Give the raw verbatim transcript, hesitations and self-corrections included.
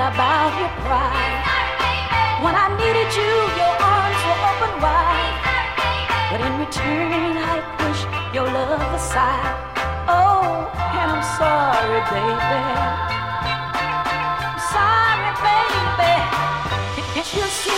about your pride. When I needed you, your arms were open wide. But in return, I pushed your love aside. Oh, and I'm sorry, baby. I'm sorry, baby. Can't you see?